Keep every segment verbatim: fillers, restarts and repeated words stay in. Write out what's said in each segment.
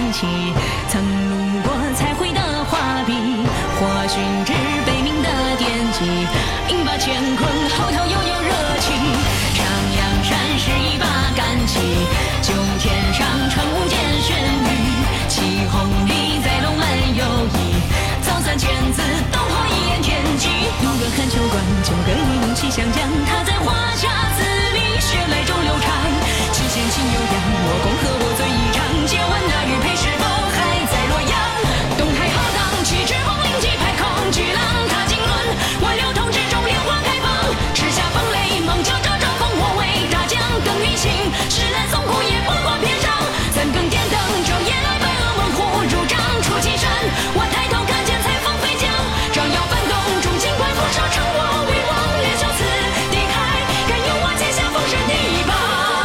起，曾路过彩绘的画笔，或寻至悲鸣的惦记，引把乾坤嚎啕悠悠热气。上阳山是一把干旗，九天上传无间玄羽，旗红里在龙门游弋，早三千字东坡一言天机。路过看秋馆，九个一梦七相将，他在华夏字里血脉中流长。七仙情悠扬，我共和我醉一场，借问那玉佩是否还在洛阳？东海浩荡，气质风铃击拍空，巨浪踏经纶，万流通之中莲花开放。赤霞风雷，猛叫招招烽火为大将更运行，石难松虎也不过篇章。三更点灯，昼夜来奔恶猛虎入帐出祁山。我抬头看见彩凤飞将，照耀翻动中金冠拂晓称我为王，连袖刺地开，敢有我剑下封神第一棒。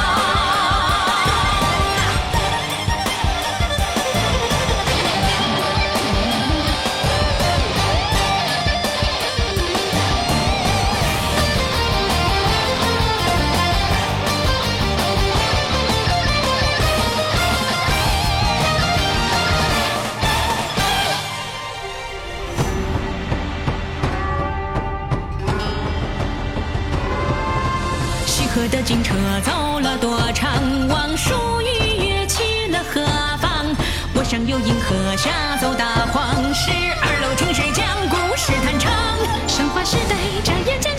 西河的金车走了多长，望蜀雨跃起了何方？我上有银河，下走大荒，十二楼听谁讲故事弹唱？神话时代眨眼间